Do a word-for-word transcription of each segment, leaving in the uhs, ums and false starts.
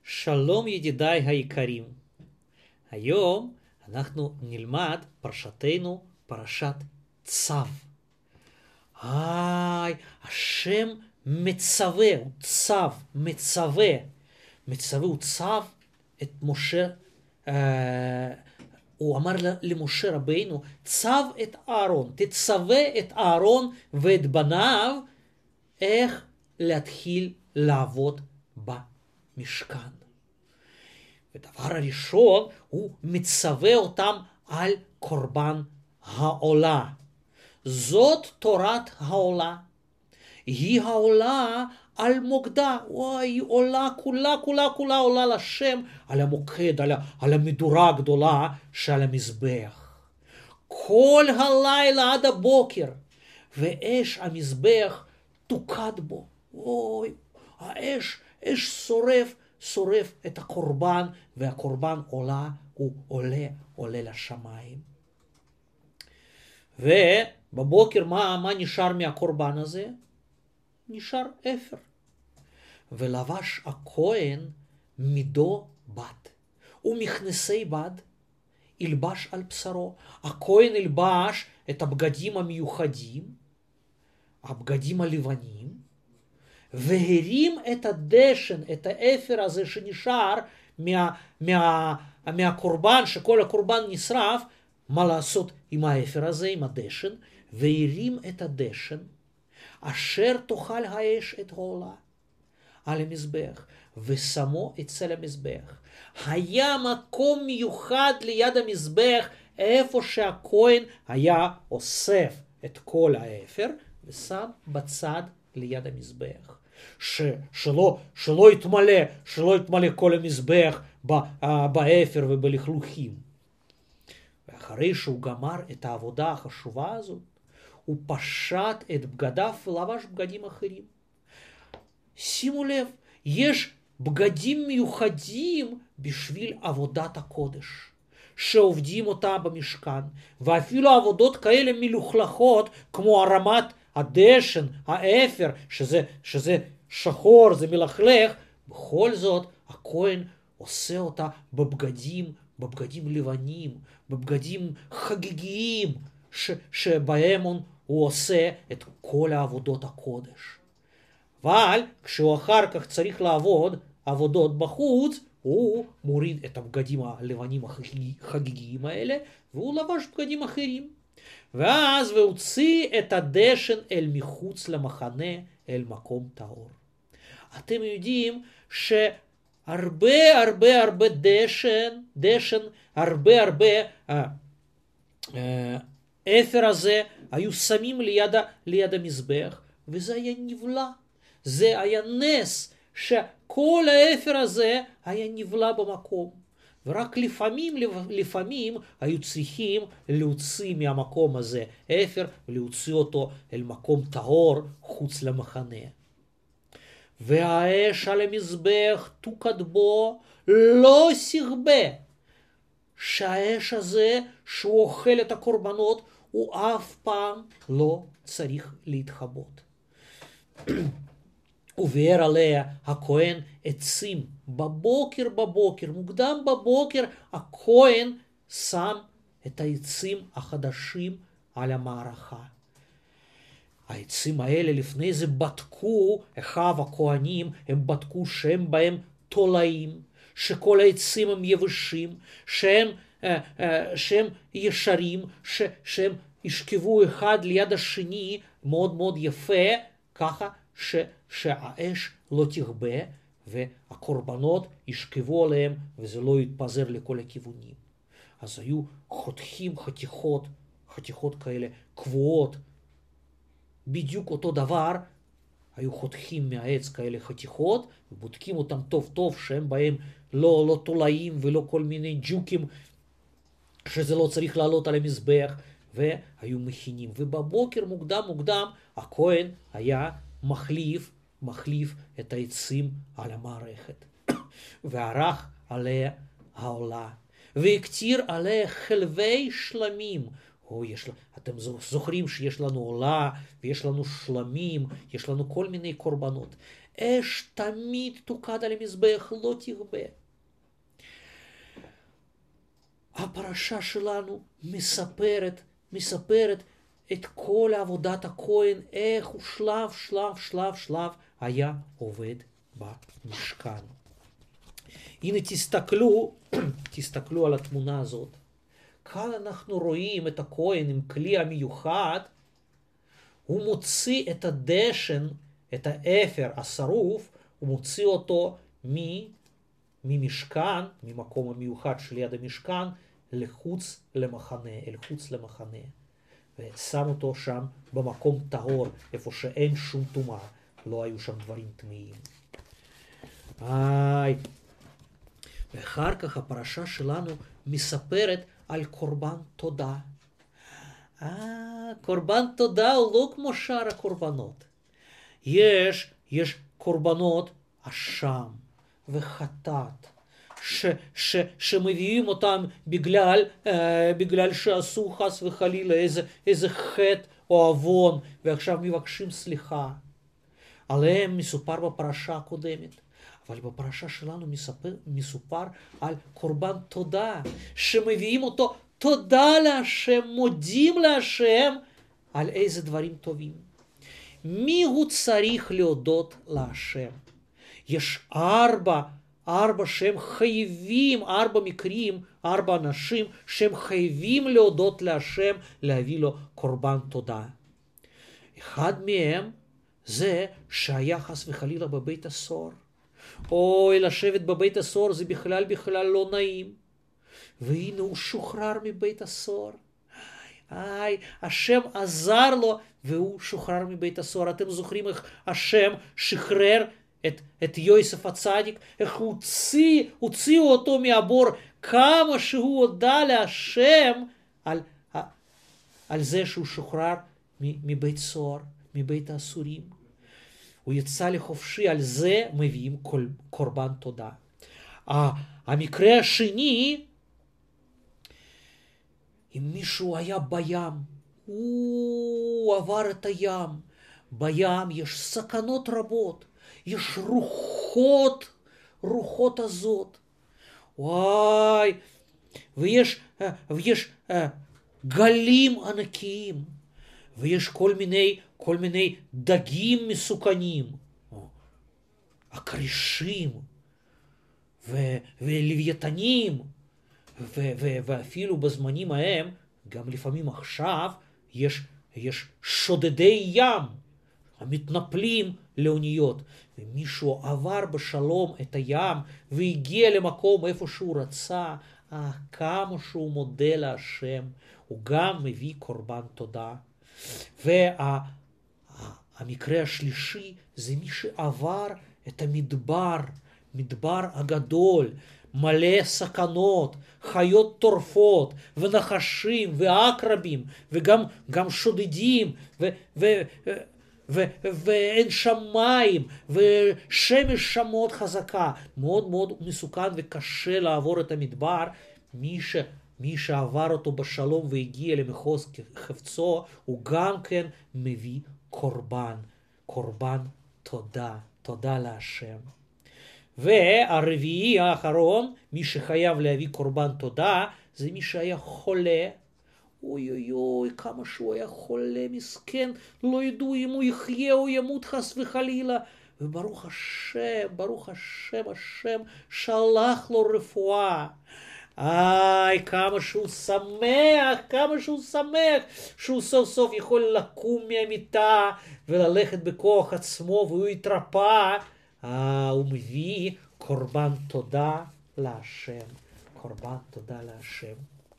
שלום ידידיי היקרים. היום אנחנו נלמד פרשתנו, פרשת צו. היי, השם מצווה, הוא צו, מצווה. מצווה הוא צו את משה, אה, הוא אמר למשה רבינו, צו את אהרון, תצווה את אהרון ואת בניו, איך להתחיל לעבוד במשכן. ודבר הראשון, הוא מצווה אותם על קורבן העולה. זאת תורת העולה. היא העולה על מוקדה. וואי, היא עולה כולה, כולה, כולה עולה לשם על המוקד, על, על המדורה הגדולה של המזבח. כל הלילה עד הבוקר, ואש המזבח תוקד בו. וואי, האש, אש שורף, שורף את הקורבן, והקורבן עולה, הוא עולה, עולה לשמיים. ובבוקר מה, מה נשאר מהקורבן הזה? נשאר אפר. ולבש הכהן מידו בד, ומכנסי בד ילבש על בשרו. הכהן ילבש את הבגדים המיוחדים, הבגדים הלבנים, והרים את הדשן, את האפר הזה שנשאר מה, מה, מהקורבן, שכל הקורבן נשרף, מה לעשות עם האפר הזה, עם הדשן, והרים את הדשן, אשר תאכל האש את העולה על המזבח, ושמו אצל המזבח. היה מקום מיוחד ליד המזבח, איפה שהכהן היה אוסף את כל האפר, ושם בצד ליד המזבח. ש, שלא, שלא יתמלא, שלא יתמלא כל המזבח באפר ובלכלוכים. ואחרי שהוא גמר את העבודה החשובה הזאת, הוא פשט את בגדיו ולבש בגדים אחרים. שימו לב, יש בגדים מיוחדים בשביל עבודת הקודש, שעובדים אותה במשכן, ואפילו עבודות כאלה מלוכלכות, כמו הרמת הדשן, האפר, שזה, שזה שחור, זה מלכלך, בכל זאת הכהן עושה אותה בבגדים, בבגדים לבנים, בבגדים חגיגיים, ש, שבהם הוא עושה את כל העבודות הקודש. אבל כשהוא אחר כך צריך לעבוד עבודות בחוץ, הוא מוריד את הבגדים הלבנים החגיגיים האלה, והוא לבש בגדים אחרים. ואז והוציא את הדשן אל מחוץ למחנה, אל מקום טהור. אתם יודעים שהרבה הרבה הרבה דשן, דשן, הרבה הרבה אה, אה, אפר הזה היו שמים ליד, ליד המזבח, וזה היה נבלע. זה היה נס שכל האפר הזה היה נבלע במקום. ורק לפעמים, לפעמים היו צריכים להוציא מהמקום הזה אפר, ולהוציא אותו אל מקום טהור חוץ למחנה. והאש על המזבח תוקד בו, לא סרבה. שהאש הזה שהוא אוכל את הקורבנות, הוא אף פעם לא צריך להתחבות. וביער עליה הכהן עצים בבוקר בבוקר, מוקדם בבוקר, הכהן שם את העצים החדשים על המערכה. העצים האלה לפני זה בדקו, אחיו הכהנים, הם בדקו שהם בהם תולעים, שכל העצים הם יבשים, שהם, שהם ישרים, ש, שהם ישכבו אחד ליד השני מאוד מאוד יפה, ככה ש, שהאש לא תכבה והקורבנות ישכבו עליהם וזה לא יתפזר לכל הכיוונים. אז היו חותכים חתיכות, חתיכות כאלה קבועות, בדיוק אותו דבר, היו חותכים מהעץ כאלה חתיכות, ובודקים אותם טוב טוב, שהם בהם לא, לא תולעים ולא כל מיני ג'וקים, שזה לא צריך לעלות על המזבח, והיו מכינים. ובבוקר מוקדם מוקדם, הכהן היה מחליף, מחליף את העצים על המערכת. וערך עליה העולה, והקטיר עליה חלבי שלמים. או יש, אתם זוכרים שיש לנו עולה, ויש לנו שלמים, יש לנו כל מיני קורבנות. אש תמיד תוקד על המזבח, לא תרבה. הפרשה שלנו מספרת, מספרת את כל עבודת הכהן, איך הוא שלב, שלב, שלב, שלב היה עובד במשכן. הנה תסתכלו, תסתכלו על התמונה הזאת. כאן אנחנו רואים את הכהן עם כלי המיוחד, הוא מוציא את הדשן, את האפר השרוף, הוא מוציא אותו ממשכן, ממקום המיוחד שליד המשכן, לחוץ למחנה, אל חוץ למחנה. ושם אותו שם במקום טהור, איפה שאין שום טומאה, לא היו שם דברים טמאים. איי. ואחר כך הפרשה שלנו מספרת על קורבן תודה. אה, קורבן תודה הוא לא כמו שאר הקורבנות. יש, יש קורבנות אשם וחטאת, ש, ש, שמביאים אותם בגלל, אה, בגלל שעשו חס וחלילה איזה, איזה חטא או עוון, ועכשיו מבקשים סליחה. עליהם מסופר בפרשה הקודמת. אבל בפרשה שלנו מספר, מסופר על קורבן תודה, שמביאים אותו תודה להשם, מודים להשם על איזה דברים טובים. מי הוא צריך להודות להשם? יש ארבע, ארבע שהם חייבים, ארבע מקרים, ארבע אנשים שהם חייבים להודות להשם, להביא לו קורבן תודה. אחד מהם זה שהיה חס וחלילה בבית הסוהר. אוי, לשבת בבית הסוהר זה בכלל בכלל לא נעים. והנה הוא שוחרר מבית הסוהר. איי, השם עזר לו והוא שוחרר מבית הסוהר. אתם זוכרים איך השם שחרר את, את יוסף הצדיק? איך הוא הוציא, הוציאו אותו מהבור, כמה שהוא הודה להשם על, על זה שהוא שוחרר מבית סוהר, מבית האסורים. הוא יצא לחופשי, על זה מביאים קורבן תודה. המקרה השני, אם מישהו היה בים, הוא עבר את הים, בים יש סכנות רבות, יש רוחות, רוחות הזאת, וואי, ויש, ויש גלים ענקיים, ויש כל מיני, כל מיני דגים מסוכנים, הקרישים, ו- ולוויתנים, ו- ו- ואפילו בזמנים ההם, גם לפעמים עכשיו, יש, יש שודדי ים, המתנפלים לאוניות, ומישהו עבר בשלום את הים, והגיע למקום איפה שהוא רצה, אה, כמה שהוא מודה להשם, הוא גם מביא קורבן תודה. והמקרה השלישי זה מי שעבר את המדבר, מדבר הגדול, מלא סכנות, חיות טורפות, ונחשים, ועקרבים, וגם גם שודדים, ו, ו, ו, ואין שם מים, ושמש שם מאוד חזקה, מאוד מאוד מסוכן וקשה לעבור את המדבר. מי ש... מי שעבר אותו בשלום והגיע למחוז חפצו, הוא גם כן מביא קורבן, קורבן תודה, תודה להשם. והרביעי האחרון, מי שחייב להביא קורבן תודה, זה מי שהיה חולה. אוי אוי אוי, כמה שהוא היה חולה, מסכן, לא ידעו אם הוא יחיה או ימות חס וחלילה. וברוך השם, ברוך השם, השם שלח לו רפואה. איי, כמה שהוא שמח, כמה שהוא שמח, שהוא סוף סוף יכול לקום מהמיטה וללכת בכוח עצמו, והוא יתרפא. אה, הוא מביא קורבן תודה להשם, קורבן תודה להשם.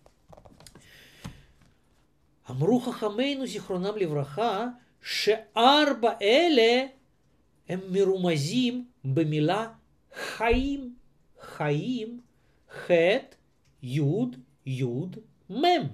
אמרו חכמינו זיכרונם לברכה, שארבע אלה הם מרומזים במילה חיים, חיים, חטא, יוד, יוד, מם.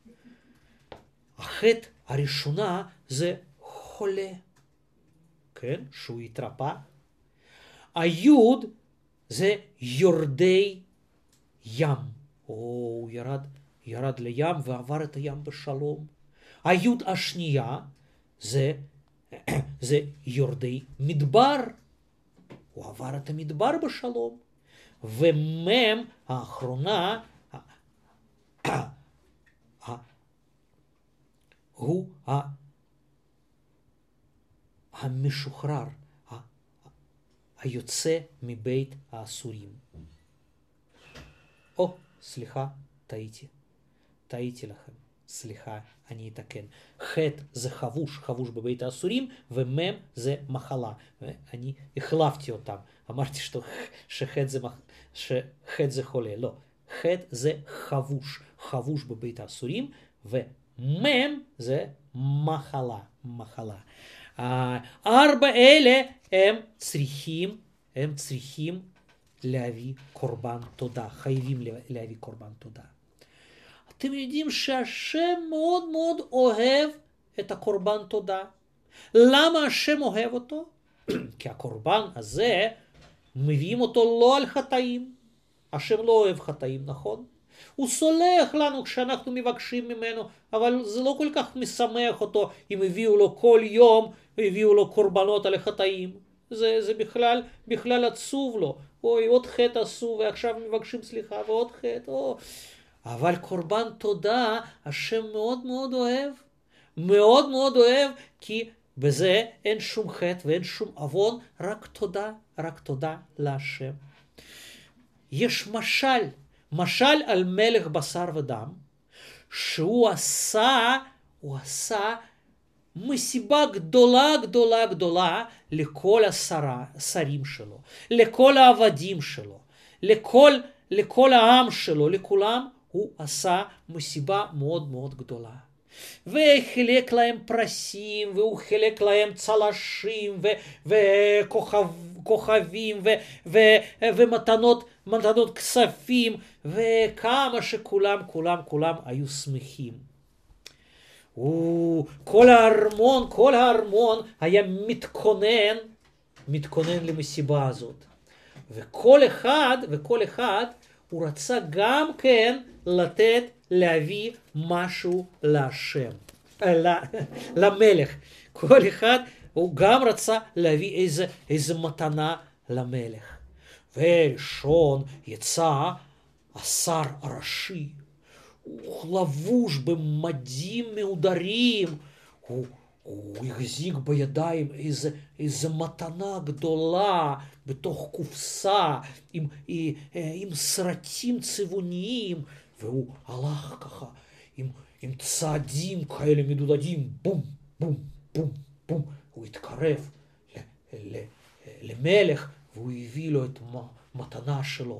החטא הראשונה זה חולה, כן, שהוא יתרפא. היוד זה יורדי ים, או הוא ירד, ירד לים ועבר את הים בשלום. היוד השנייה זה, זה יורדי מדבר, הוא עבר את המדבר בשלום. ומם האחרונה, הוא המשוחרר, היוצא מבית האסורים. או, סליחה, טעיתי. טעיתי לכם. סליחה, אני אתקן. חטא זה חבוש, חבוש בבית האסורים, ומם זה מחלה. ואני החלפתי אותם. אמרתי שחטא זה, שחטא זה חולה. לא. חטא זה חבוש, חבוש בבית האסורים, ומם זה מחלה, מחלה. ארבע אלה הם צריכים, הם צריכים להביא קורבן תודה, חייבים להביא קורבן תודה. אתם יודעים שהשם מאוד מאוד אוהב את הקורבן תודה. למה השם אוהב אותו? כי הקורבן הזה, מביאים אותו לא על חטאים. השם לא אוהב חטאים, נכון? הוא סולח לנו כשאנחנו מבקשים ממנו, אבל זה לא כל כך משמח אותו אם הביאו לו כל יום, הביאו לו קורבנות על החטאים. זה, זה בכלל, בכלל עצוב לו. אוי, עוד חטא עשו ועכשיו מבקשים סליחה ועוד חטא. או. אבל קורבן תודה, השם מאוד מאוד אוהב. מאוד מאוד אוהב, כי בזה אין שום חטא ואין שום עוון, רק תודה, רק תודה להשם. יש משל, משל על מלך בשר ודם, שהוא עשה, הוא עשה מסיבה גדולה גדולה גדולה לכל השרה, השרים שלו, לכל העבדים שלו, לכל, לכל העם שלו, לכולם הוא עשה מסיבה מאוד מאוד גדולה. וחילק להם פרסים, והוא חילק להם צלשים, וכוכבים, ומתנות, מתנות כספים, וכמה שכולם, כולם, כולם היו שמחים. כל הארמון, כל הארמון היה מתכונן, מתכונן למסיבה הזאת. וכל אחד, וכל אחד, הוא רצה גם כן לתת, להביא משהו להשם, למלך. כל אחד, הוא גם רצה להביא איזה, איזה מתנה למלך. וראשון יצא השר הראשי. הוא לבוש במדים מהודרים, הוא, הוא החזיק בידיים איזה, איזה מתנה גדולה בתוך קופסה עם, עם, עם סרטים צבעוניים, והוא הלך ככה עם, עם צעדים כאלה מדודדים, בום, בום, בום, בום. הוא התקרב ל, ל, למלך והוא הביא לו את המתנה שלו.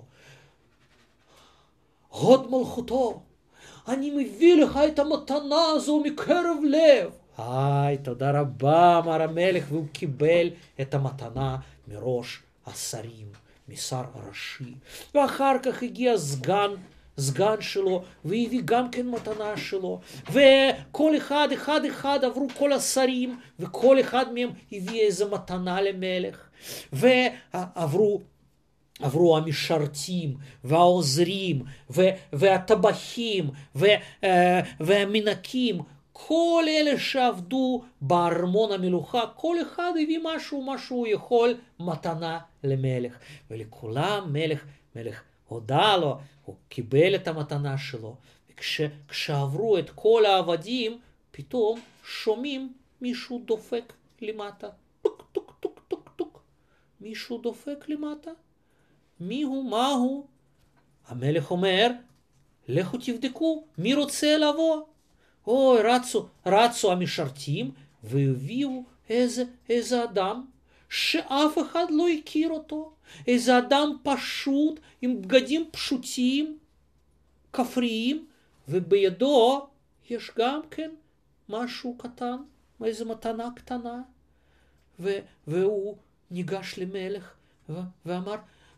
הוד מלכותו, אני מביא לך את המתנה הזו מקרב לב. היי, תודה רבה, אמר המלך, והוא קיבל את המתנה מראש השרים, משר הראשי. ואחר כך הגיע סגן, סגן שלו, והביא גם כן מתנה שלו. וכל אחד, אחד אחד עברו כל השרים, וכל אחד מהם הביא איזה מתנה למלך. ועברו עברו המשרתים והעוזרים והטבחים והמנקים, כל אלה שעבדו בארמון המלוכה, כל אחד הביא משהו, משהו יכול, מתנה למלך. ולכולם מלך, מלך הודע לו, הוא קיבל את המתנה שלו. וכשעברו את כל העבדים, פתאום שומעים מישהו דופק למטה. טוק, טוק, טוק, טוק, טוק. מישהו דופק למטה. מי הוא? מה הוא? המלך אומר, לכו תבדקו, מי רוצה לבוא? אוי, רצו, רצו המשרתים, והביאו איזה, איזה אדם, שאף אחד לא הכיר אותו. איזה אדם פשוט, עם בגדים פשוטים, כפריים, ובידו יש גם כן משהו קטן, איזו מתנה קטנה. ו- והוא ניגש למלך, ו- ואמר,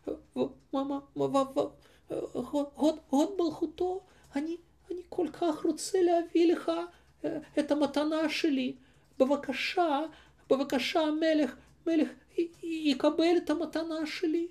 הוד מלכותו, אני, אני כל כך רוצה להביא לך את המתנה שלי. בבקשה, בבקשה, המלך, מלך, יקבל את המתנה שלי.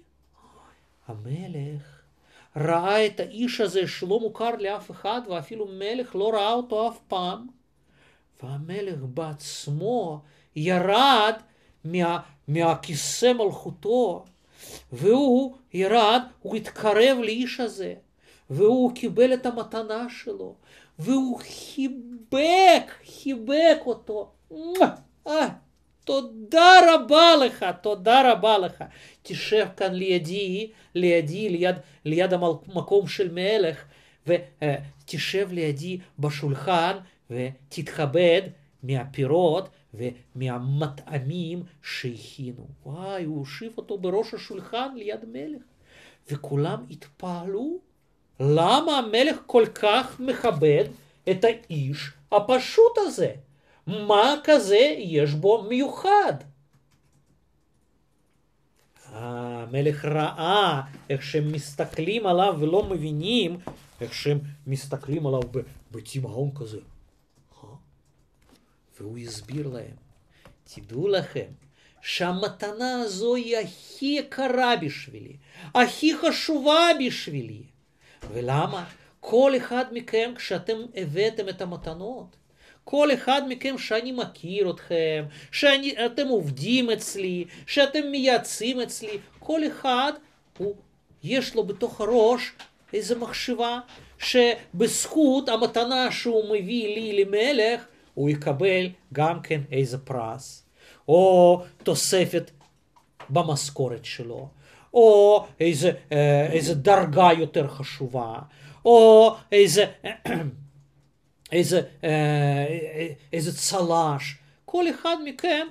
המלך ראה את האיש הזה שלא מוכר לאף אחד, ואפילו מלך לא ראה אותו אף פעם. והמלך בעצמו ירד מה, מהכיסא מלכותו, והוא ירד, הוא התקרב לאיש הזה, והוא קיבל את המתנה שלו, והוא חיבק, חיבק אותו. אה, תודה רבה לך, תודה רבה לך. תשב כאן לידי, לידי, ליד, ליד המקום של מלך, ותשב לידי בשולחן, ותתכבד מהפירות ומהמטעמים שהכינו. וואי, הוא הושיב אותו בראש השולחן ליד מלך. וכולם התפעלו, למה המלך כל כך מכבד את האיש הפשוט הזה? מה כזה יש בו מיוחד? המלך ראה איך שהם מסתכלים עליו ולא מבינים איך שהם מסתכלים עליו בתימהון כזה. והוא הסביר להם, תדעו לכם שהמתנה הזו היא הכי יקרה בשבילי, הכי חשובה בשבילי. ולמה? כל אחד מכם, כשאתם הבאתם את המתנות, כל אחד מכם שאני מכיר אתכם, שאתם עובדים אצלי, שאתם מייעצים אצלי, כל אחד הוא, יש לו בתוך הראש איזו מחשבה שבזכות המתנה שהוא מביא לי למלך, הוא יקבל גם כן איזה פרס, או תוספת במשכורת שלו, או איזה, איזה דרגה יותר חשובה, או איזה, איזה, איזה צל"ש. כל אחד מכם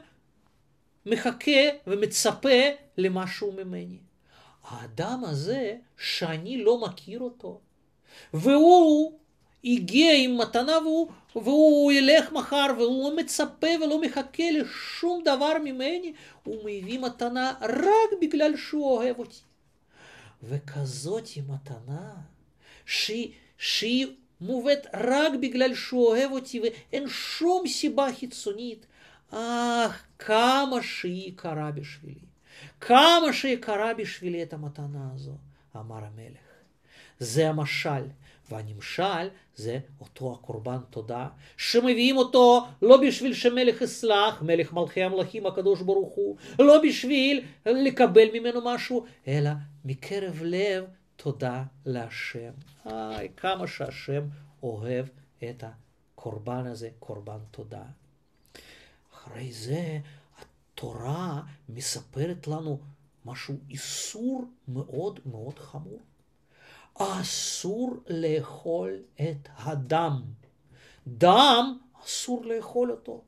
מחכה ומצפה למשהו ממני. האדם הזה שאני לא מכיר אותו, והוא הגיע עם מתנה, והוא, והוא ילך מחר, והוא לא מצפה ולא מחכה לשום דבר ממני, הוא מביא מתנה רק בגלל שהוא אוהב אותי. וכזאת מתנה שהיא, שהיא מובאת רק בגלל שהוא אוהב אותי, ואין שום סיבה חיצונית. אך, כמה שהיא יקרה בשבילי, כמה שיקרה בשבילי את המתנה הזו, אמר המלך. זה המשל, והנמשל זה אותו הקורבן תודה, שמביאים אותו לא בשביל שמלך יסלח, מלך מלכי המלכים הקדוש ברוך הוא, לא בשביל לקבל ממנו משהו, אלא מקרב לב תודה להשם. איי, כמה שהשם אוהב את הקורבן הזה, קורבן תודה. אחרי זה התורה מספרת לנו משהו, איסור מאוד מאוד חמור. אסור לאכול את הדם. דם אסור לאכול אותו.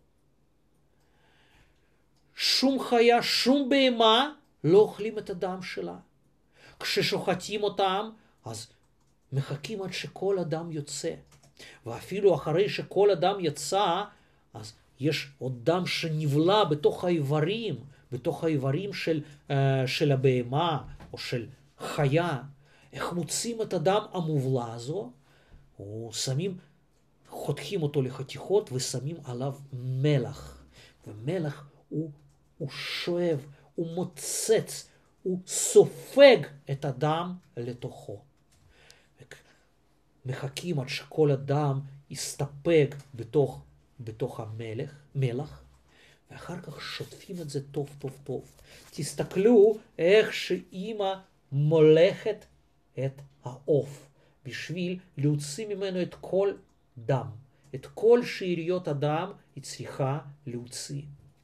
שום חיה, שום בהמה לא אוכלים את הדם שלה. כששוחטים אותם, אז מחכים עד שכל הדם יוצא. ואפילו אחרי שכל הדם יצא, אז יש עוד דם שנבלע בתוך האיברים, בתוך האיברים של, uh, של הבהמה או של חיה. איך מוצאים את הדם המובלע הזו? ושמים, חותכים אותו לחתיכות ושמים עליו מלח. ומלח הוא, הוא שואב, הוא מוצץ, הוא סופג את הדם לתוכו. מחכים עד שכל הדם יסתפק בתוך, בתוך המלח, מלח, ואחר כך שוטפים את זה טוב טוב טוב. תסתכלו איך שאמא מולכת את העוף, בשביל להוציא ממנו את כל דם. את כל שאריות הדם היא צריכה להוציא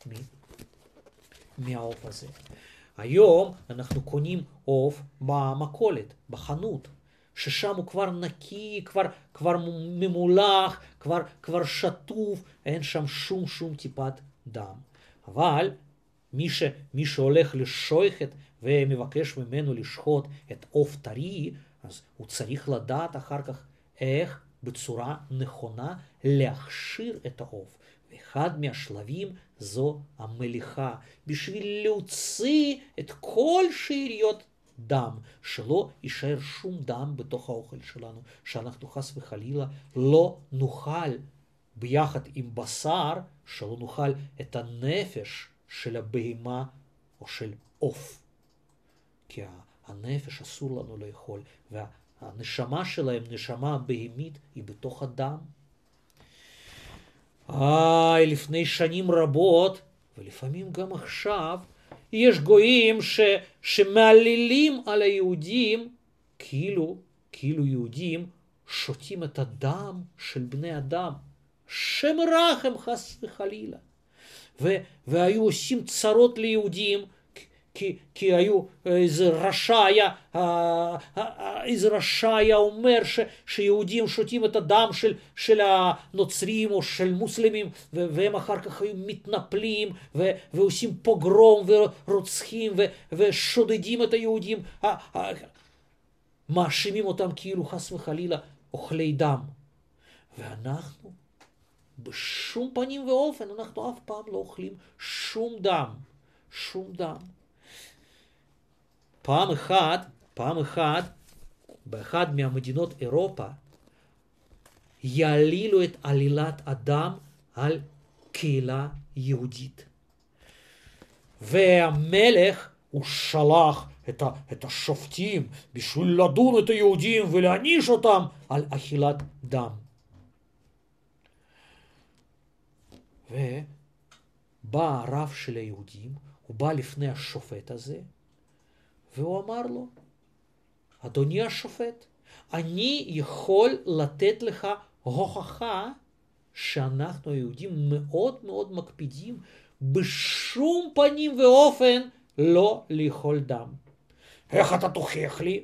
מהעוף הזה. היום אנחנו קונים עוף במכולת, בחנות, ששם הוא כבר נקי, כבר, כבר ממולח, כבר, כבר שטוף, אין שם שום שום טיפת דם. אבל מי, ש, מי שהולך לשוחט ומבקש ממנו לשחוט את עוף טרי, אז הוא צריך לדעת אחר כך איך בצורה נכונה להכשיר את העוף. ואחד מהשלבים זו המליחה, בשביל להוציא את כל שאריות דם, שלא יישאר שום דם בתוך האוכל שלנו, שאנחנו חס וחלילה לא נאכל ביחד עם בשר, שלא נאכל את הנפש של הבהמה או של עוף. כי הנפש אסור לנו לאכול, והנשמה שלהם, נשמה הבהמית, היא בתוך הדם. איי, לפני שנים רבות, ולפעמים גם עכשיו, יש גויים ש, שמעלילים על היהודים, כאילו, כאילו יהודים שותים את הדם של בני אדם. שם רחם חס וחלילה. ו, והיו עושים צרות ליהודים, כי, כי היו, איזה רשע היה, איזה רשע היה אומר ש, שיהודים שותים את הדם של, של הנוצרים או של מוסלמים, ו, והם אחר כך היו מתנפלים ו, ועושים פוגרום ורוצחים ו, ושודדים את היהודים, מאשימים אותם כאילו חס וחלילה אוכלי דם. ואנחנו בשום פנים ואופן, אנחנו אף פעם לא אוכלים שום דם, שום דם. פעם אחת, פעם אחת, באחד מהמדינות אירופה, יעלילו את עלילת הדם על קהילה יהודית. והמלך הוא שלח את, ה, את השופטים בשביל לדון את היהודים ולהעניש אותם על אכילת דם. ובא הרב של היהודים, הוא בא לפני השופט הזה, והוא אמר לו, אדוני השופט, אני יכול לתת לך הוכחה שאנחנו היהודים מאוד מאוד מקפידים בשום פנים ואופן לא לאכול דם. איך אתה תוכיח לי?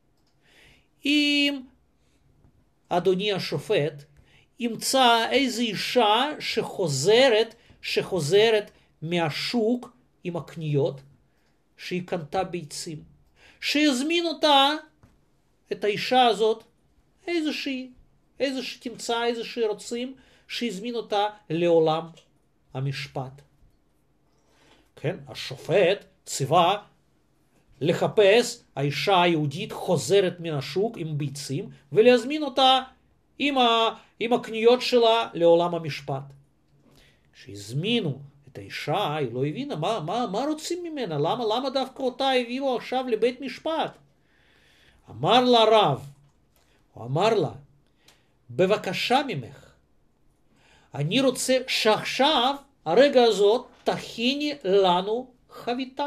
אם אדוני השופט ימצא איזו אישה שחוזרת, שחוזרת מהשוק עם הקניות, שהיא קנתה ביצים, שיזמין אותה, את האישה הזאת, איזושהי, איזה שתמצא, איזה שרוצים, שיזמין אותה לעולם המשפט. כן, השופט ציווה לחפש האישה היהודית חוזרת מן השוק עם ביצים, ולהזמין אותה עם, ה, עם הקניות שלה לעולם המשפט. כשהזמינו את האישה, היא לא הבינה מה, מה, מה רוצים ממנה, למה, למה דווקא אותה הביאו עכשיו לבית משפט. אמר לה רב, הוא אמר לה, בבקשה ממך, אני רוצה שעכשיו, הרגע הזאת, תכיני לנו חביתה.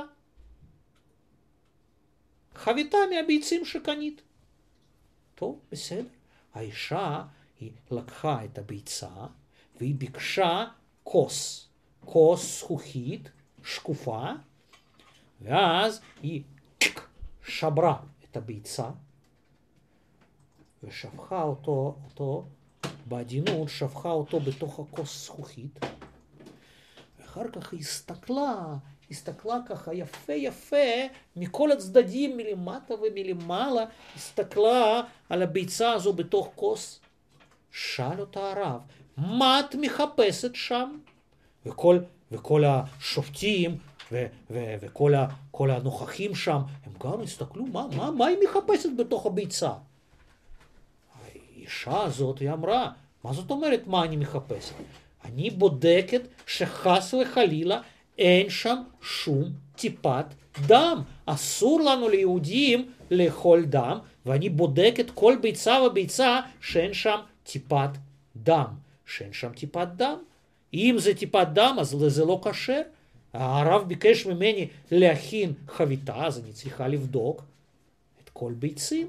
חביתה מהביצים שקנית. טוב, בסדר. האישה, היא לקחה את הביצה, והיא ביקשה כוס, כוס זכוכית, שקופה, ואז היא שברה את הביצה, ושפכה אותו, אותו, בעדינות, שפכה אותו בתוך הכוס זכוכית, ואחר כך היא הסתכלה, הסתכלה ככה יפה יפה, מכל הצדדים, מלמטה ומלמעלה, הסתכלה על הביצה הזו בתוך כוס. שאל אותה הרב, מה את מחפשת שם? וכל, וכל השופטים ו, ו, וכל ה, כל הנוכחים שם, הם גם הסתכלו, מה, מה, מה היא מחפשת בתוך הביצה? האישה הזאת, היא אמרה, מה זאת אומרת, מה אני מחפשת? אני בודקת שחס וחלילה אין שם שום טיפת דם. אסור לנו ליהודים לאכול דם, ואני בודקת כל ביצה וביצה שאין שם טיפת דם. שאין שם טיפת דם. אם זה טיפת דם, אז זה לא כשר. הרב ביקש ממני להכין חביתה, אז אני צריכה לבדוק את כל ביצים.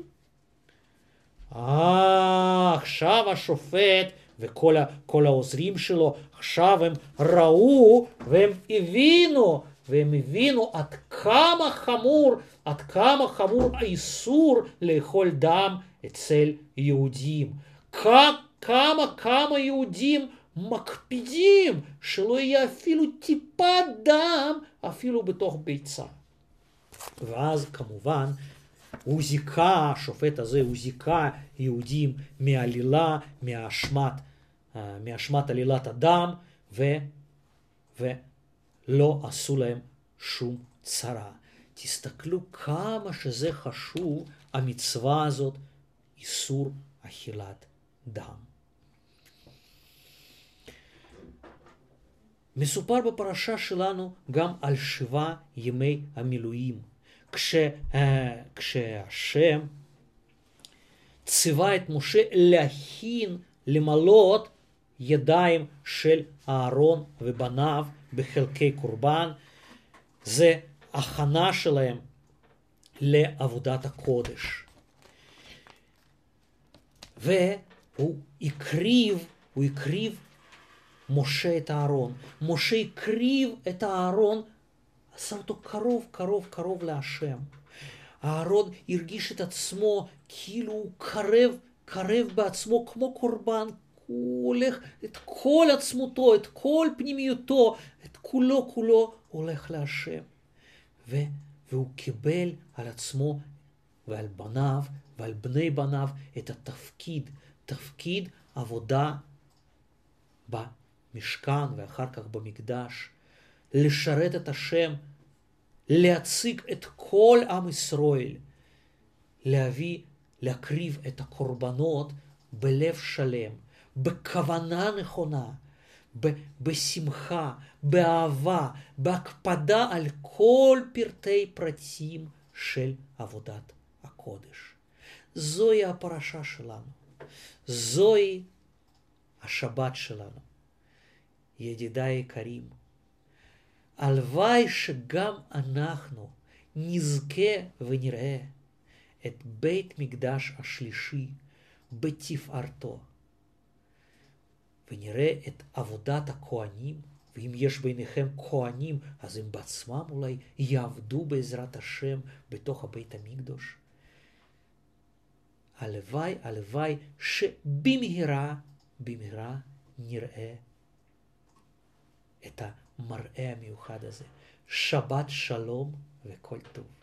אה, עכשיו השופט וכל ה, כל העוזרים שלו, עכשיו הם ראו והם הבינו, והם הבינו עד כמה חמור, עד כמה חמור האיסור לאכול דם אצל יהודים. כמה, כמה, כמה יהודים מקפידים שלא יהיה אפילו טיפת דם, אפילו בתוך ביצה. ואז כמובן, הוא זיכה, השופט הזה, הוא זיכה יהודים מעלילה, מאשמת, מאשמת עלילת הדם, ו, ולא עשו להם שום צרה. תסתכלו כמה שזה חשוב, המצווה הזאת, איסור אכילת דם. מסופר בפרשה שלנו גם על שבעה ימי המילואים. כש, כשהשם ציווה את משה להכין, למלות ידיים של אהרון ובניו בחלקי קורבן, זה ההכנה שלהם לעבודת הקודש. והוא הקריב, הוא הקריב משה את הארון. משה הקריב את הארון, עשה אותו קרוב, קרוב, קרוב להשם. הארון הרגיש את עצמו כאילו הוא קרב, קרב בעצמו כמו קורבן. הוא הולך את כל עצמותו, את כל פנימיותו, את כולו, כולו הולך להשם. ו, והוא קיבל על עצמו ועל בניו ועל בני בניו את התפקיד, תפקיד עבודה במשכן ואחר כך במקדש, לשרת את השם, להציג את כל עם ישראל, להביא, להקריב את הקורבנות בלב שלם, בכוונה נכונה, ב- בשמחה, באהבה, בהקפדה על כל פרטי פרטים של עבודת הקודש. זוהי הפרשה שלנו, זוהי השבת שלנו. ידידיי היקרים, הלוואי שגם אנחנו נזכה ונראה את בית מקדש השלישי בתפארתו, ונראה את עבודת הכהנים, ואם יש ביניכם כהנים, אז הם בעצמם אולי יעבדו בעזרת השם בתוך הבית המקדש. הלוואי, הלוואי שבמהרה, במהרה נראה את המראה המיוחד הזה. שבת שלום וכל טוב.